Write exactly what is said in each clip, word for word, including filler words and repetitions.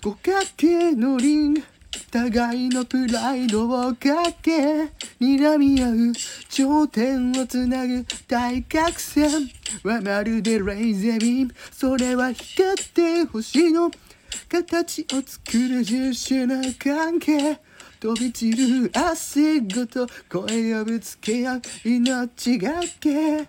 五角形のリング、互いのプライドをかけ睨み合う頂点をつなぐ対角線はまるでレイザービーム。それは光って星の形を作る十種な関係。飛び散る汗ごと声をぶつけ合う命がけ。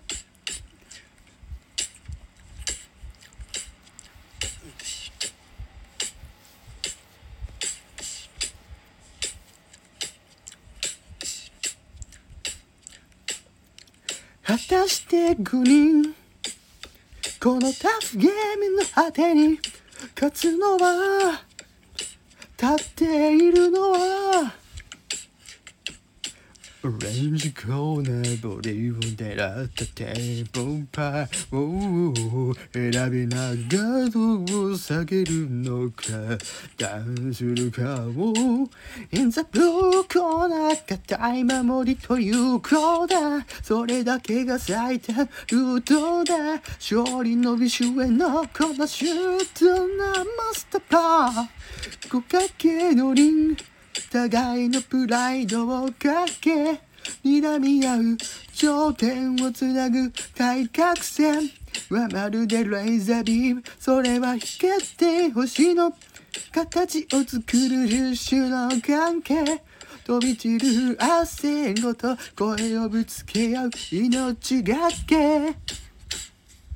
果たしてごにん、このタフゲームの果てに勝つのは、立っているのはオレンジコーナーボディを狙ったテンポパーを選びながらどう下げるのか、ダウンするかを In the blue corner 固い守りというコーナー、それだけが最短ルートだ。勝利の美酒へのこのシュートなマスターパー。五角形のリング、互いのプライドをかけ睨み合う頂点をつなぐ対角線はまるでレーザービーム。それは光って星の形を作る十種の関係。飛び散る汗ごと声をぶつけ合う命がけ。